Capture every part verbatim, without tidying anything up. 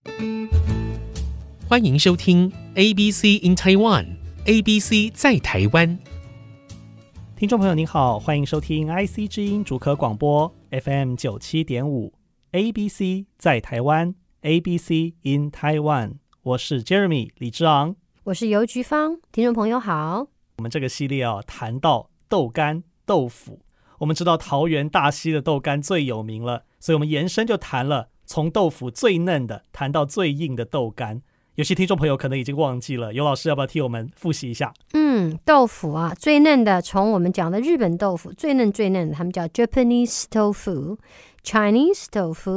歡迎收聽 A B C in Taiwan，A B C 在台灣。 聽眾朋友您好，歡迎收聽 I C 之音竹科廣播 F M 九七點五 A B C 在台灣 A B C in Taiwan， 我是 Jeremy 李之昂， 我是游菊芳。聽眾朋友好， 我們這個系列啊，談到豆乾豆腐，我們知道桃園大溪的豆乾最有名了，所以我們延伸就談了從豆腐最嫩的談到最硬的豆乾。有些聽眾朋友可能已經忘記了，游老師要不要替我們複習一下？ 嗯，豆腐啊，最嫩的，從我們講的日本豆腐最嫩最嫩的，他們叫 Japanese tofu、Chinese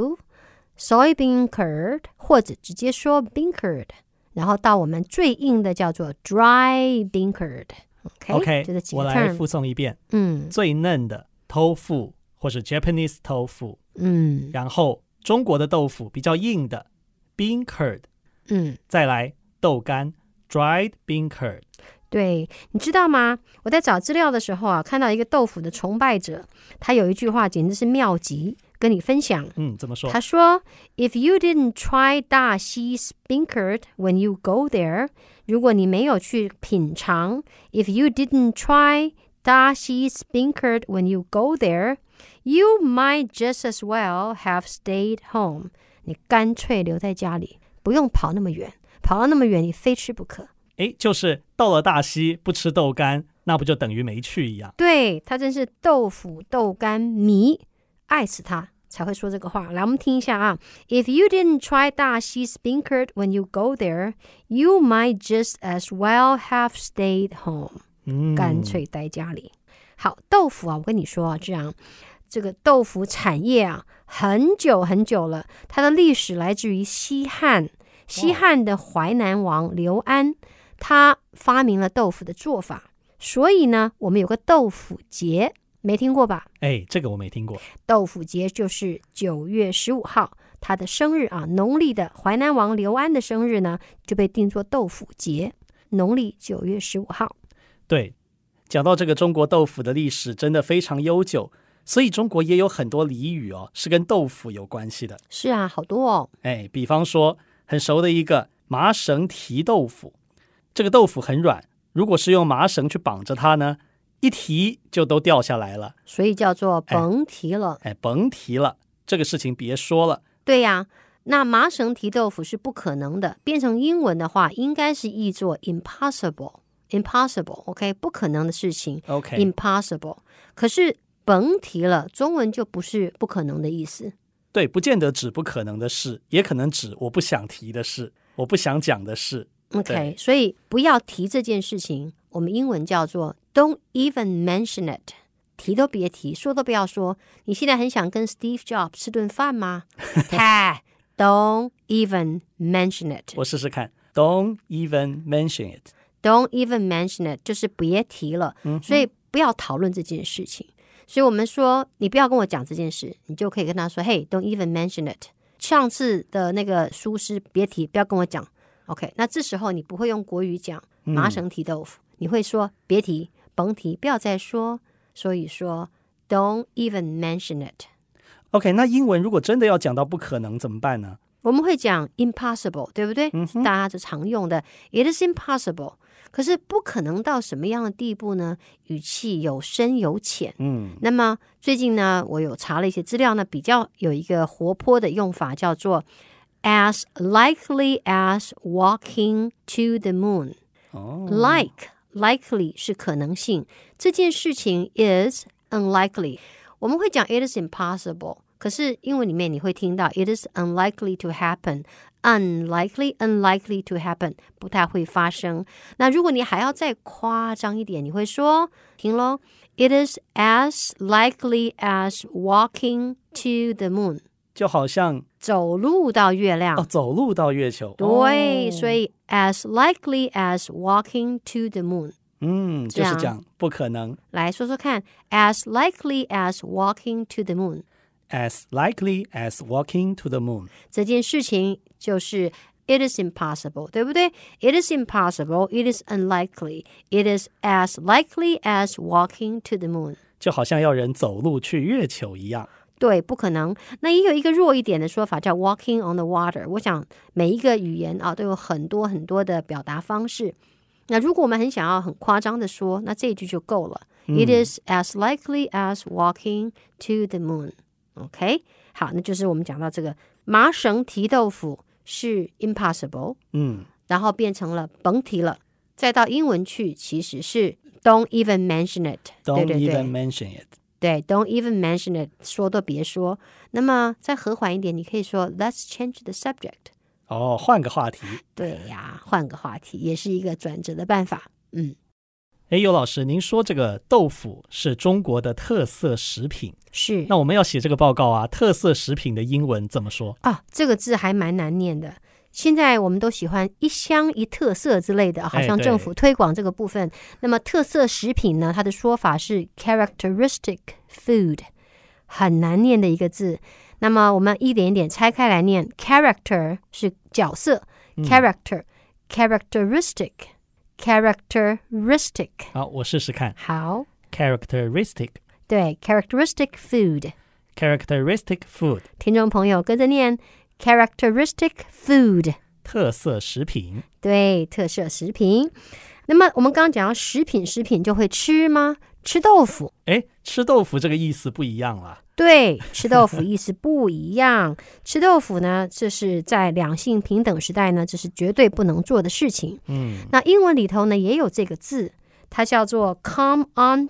tofu、soybean curd， 或者直接說 bean curd， 然後到我們最硬的叫做 dry bean curd。OK，, okay 這幾個 term， 我來複誦一遍。嗯，最嫩的 tofu 或是 Japanese tofu， 嗯，然後中國的豆腐比較硬的 bean curd。嗯，再來豆乾 dried bean curd。 對，你知道嗎？我在找資料的時候啊，看到一個豆腐的崇拜者，他有一句話簡直是妙極，跟你分享。 嗯，怎麼說？ 他說 If you didn't try 大溪 bean curd when you go there， 如果你沒有去品嘗 If you didn't try 大溪 bean curd when you go there you might just as well have stayed home， 你乾脆留在家裡，不用跑那麼遠，跑到那麼遠你非吃不可。 誒，就是到了大溪不吃豆乾，那不就等於沒去一樣？對， 他真是豆腐豆乾迷，愛死他才會說這個話。來，我們聽一下啊。If you didn't try 大溪 bean curd when you go there, you might just as well have stayed home。嗯，乾脆待家裡。好，豆腐啊，我跟你說啊，這樣這個豆腐產業啊，很久很久了，它的歷史來自於西漢。西漢的淮南王劉安，他發明了豆腐的做法，所以呢，我們有個豆腐節，沒聽過吧？ 哎，這個我沒聽過。 豆腐節就是九月十五號，他的生日啊，農曆的淮南王劉安的生日呢，就被定作豆腐節，農曆九月十五號。 對，講到這個中國豆腐的歷史真的非常悠久，所以中國也有很多俚語哦，是跟豆腐有關係的。 是啊，好多哦。 哎，比方說很熟的一個麻繩提豆腐，這個豆腐很軟，如果是用麻繩去綁着它呢，一提就都掉下來了， 所以叫做甭提了。 哎，哎甭提了，這個事情別說了。 對呀，那麻繩提豆腐是不可能的，變成英文的話，應該是譯作 impossible。impossible，OK， 不可能的事情。 OK， impossible。可是甭提了，中文就不是不可能的意思。 對，不見得指不可能的事，也可能指我不想提的事，我不想講的事。 OK， 所以不要提這件事情，我們英文叫做 Don't even mention it， 提都別提，說都不要說。你現在很想跟 Steve Jobs 吃頓飯嗎？他Don't even mention it。 我試試看 Don't even mention it。 Don't even mention it 就是別提了，嗯，所以不要討論這件事情。所以我們說你不要跟我講這件事，你就可以跟他說 Hey, don't even mention it。 上次的那個疏失別提，不要跟我講。 OK， 那這時候你不會用國語講麻繩提豆腐，嗯，你會說別提甭提，不要再說。所以說 don't even mention it。 OK， 那英文如果真的要講到不可能怎麼辦呢？ 我們會講 impossible， 對不對？嗯，大家就常用的 It is impossible。可是不可能到什麼樣的地步呢？語氣有深有淺。嗯，那麼最近呢，我有查了一些資料呢，比較有一個活潑的用法，叫做 as likely as walking to the moon。哦，like likely 是可能性，這件事情 is unlikely。我們會講 it is impossible， 可是英文裡面你會聽到 it is unlikely to happen。Unlikely, unlikely to happen， 不太會發生。那如果你還要再誇張一點，你會說，聽咯 It is as likely as walking to the moon， 就好像走路到月亮。 哦，走路到月球。 對，哦，所以 as likely as walking to the moon。 嗯，就是講不可能。 來說說看 as likely as walking to the moon。As likely as walking to the moon， 這件事情就是 it is impossible， 對不對？ It is impossible, it is unlikely, it is as likely as walking to the moon， 就好像要人走路去月球一樣。 對，不可能。那也有一個弱一點的說法叫 walking on the water。我想每一個語言啊都有很多很多的表達方式。那如果我們很想要很誇張的說，那這一句就夠了。嗯、It is as likely as walking to the moon。OK， 好，那就是我們講到這個麻繩提豆腐是 impossible， 嗯，然後變成了甭提了。再到英文去，其實是 don't even mention it。Don't 對對對 even mention it。 對 ，don't even mention it， 說都別說。那麼再和緩一點，你可以說 let's change the subject。 哦，換個話題。 對呀，換個話題也是一個轉折的辦法。嗯， 哎，尤老師，您說這個豆腐是中國的特色食品， 是。 那我們要寫這個報告啊，特色食品的英文怎麼說啊？ 這個字還蠻難念的。現在我們都喜歡一鄉一特色之類的，好像政府推廣這個部分。那麼特色食品呢，它的說法是 characteristic food， 很難念的一個字。那麼我們一點一點拆開來念 ，character 是角色、嗯、，character characteristic characteristic。 好，我試試看。 好 ，characteristic。 對 ，characteristic food characteristic food。 聽眾朋友跟着念。Characteristic food， 特色食品。 對，特色食品。那麼我們剛剛講到食品，食品就會吃嗎？吃豆腐。 哎，吃豆腐這個意思不一樣了。 對，吃豆腐意思不一樣。吃豆腐呢，這是在兩性平等時代呢，這是絕對不能做的事情。嗯，那英文裡頭呢也有這個字，它叫做 come on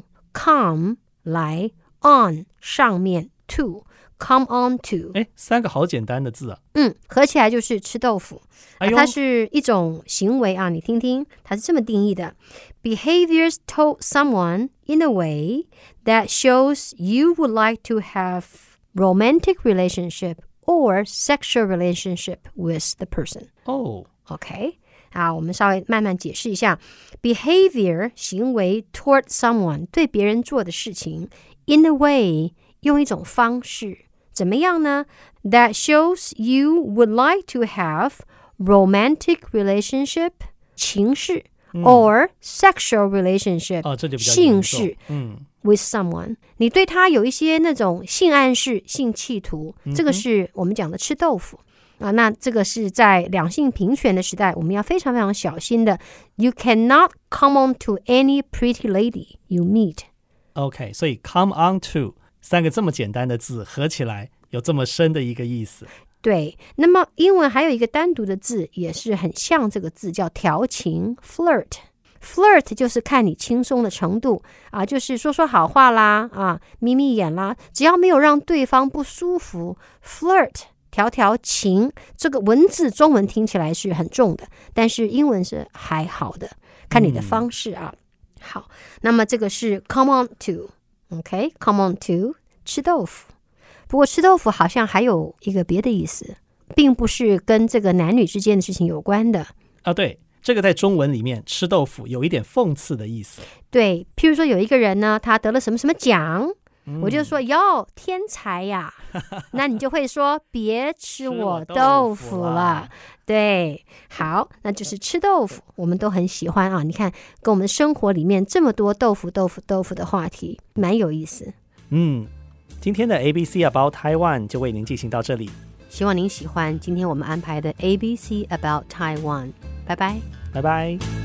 to，come 來 on 上面 to。Come on to， 哎，三個好簡單的字啊。 嗯，合起來就是吃豆腐。 哎呦， 它是一種行為啊，你聽聽，它是這麼定義的 ：behaviors toward someone in a way that shows you would like to have romantic relationship or sexual relationship with the person。 哦 ，OK， 好，我們稍微慢慢解釋一下 ：behavior 行為 toward someone 對別人做的事情 in a way 用一種方式。怎麼樣呢？ That shows you would like to have romantic relationship 情事、嗯、or sexual relationship、 哦、這就比較性事、 嗯、 with someone 你對他有一些那種性暗示、性企圖、嗯、這個是我們講的吃豆腐啊。那這個是在兩性平權的時代，我們要非常非常小心的。You cannot come on to any pretty lady you meet。 OK， 所以 come on to三個這麼簡單的字合起來有這麼深的一個意思。 對，那麼英文還有一個單獨的字也是很像這個字，叫調情 flirt。 flirt 就是看你輕鬆的程度啊，就是說說好話啦啊，眯眯眼啦，只要沒有讓對方不舒服 flirt 調調情，這個文字中文聽起來是很重的，但是英文是還好的，看你的方式啊、嗯、好，那麼這個是 come on to OK， come on to 吃豆腐。不過吃豆腐好像還有一個別的意思，並不是跟這個男女之間的事情有關的啊。對，這個在中文裡面吃豆腐有一點諷刺的意思。 對，譬如說有一個人呢，他得了什麼什麼獎，嗯、我就說喲天才呀，那你就會說別吃我豆腐了。對，好，那就是吃豆腐，我們都很喜歡啊。你看，跟我們生活裡面這麼多豆腐、豆腐、豆腐的話題，蠻有意思。 嗯，今天的 A B C About Taiwan 就為您進行到這裡。 希望您喜歡今天我們安排的 A B C About Taiwan。拜拜， 拜拜。